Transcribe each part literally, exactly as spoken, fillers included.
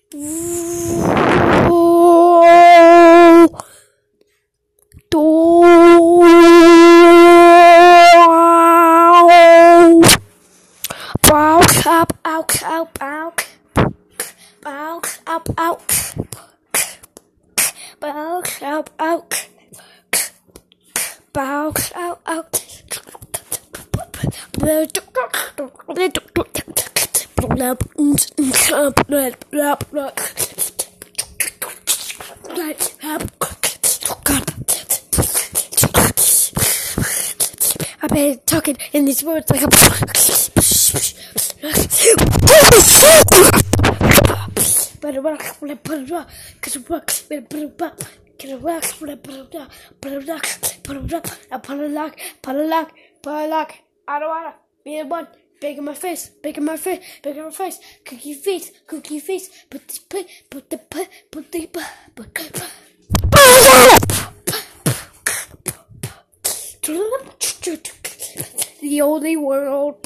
Up, out, out, out, out, up, out, out, out, out, out, out, out. I've been talking in these words like a better rock, better rock, better rock, better rock, better rock, better rock, better rock, better rock, upon a lock, upon a lock, upon a lock. I don't wanna be the one. Big in my face, big in my face, big in my face. Cookie face, cookie face. Put the put, put the put, put the put, put the. The only world.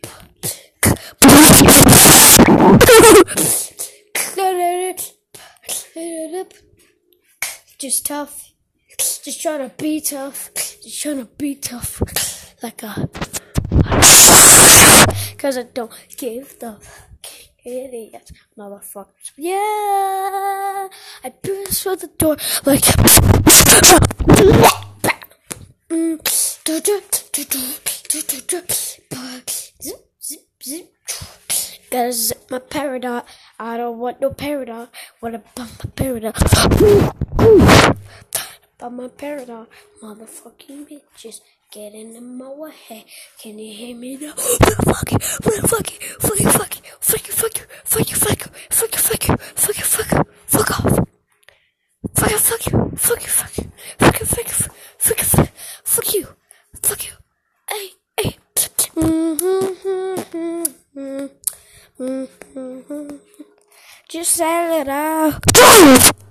Just tough. Just trying to be tough. Just trying to be tough. Like a. Cause I don't give the idiots, motherfuckers. Yeah, I burst through the door like. Gotta zip my paradox. I don't want no paradox. Wanna bump my paradox. Bump my paradox. Motherfucking bitches. Getting in my way. Can you hear me now? Fuck you, fuck you, fuck you, fuck you, fuck you, fuck you, fuck you, fuck you, fuck you, fuck you, fuck you, fuck you, fuck off. Fuck you, fuck you, fuck you, fuck you, fuck you, fuck you, fuck you, fuck fuck you, fuck you. Hey, hey. Just say it out.